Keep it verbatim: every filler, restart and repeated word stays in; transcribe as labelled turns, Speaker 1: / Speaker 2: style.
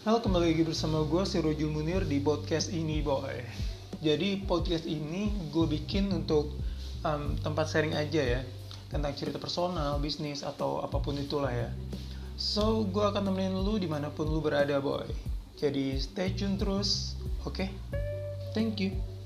Speaker 1: Halo, kembali lagi bersama gue, Sirojul Munir, di podcast ini, boy. Jadi, podcast ini gue bikin untuk um, tempat sharing aja ya, tentang cerita personal, bisnis, atau apapun itulah ya. So, gue akan temenin lu dimanapun lu berada, boy. Jadi, stay tune terus, oke? Okay? Thank you.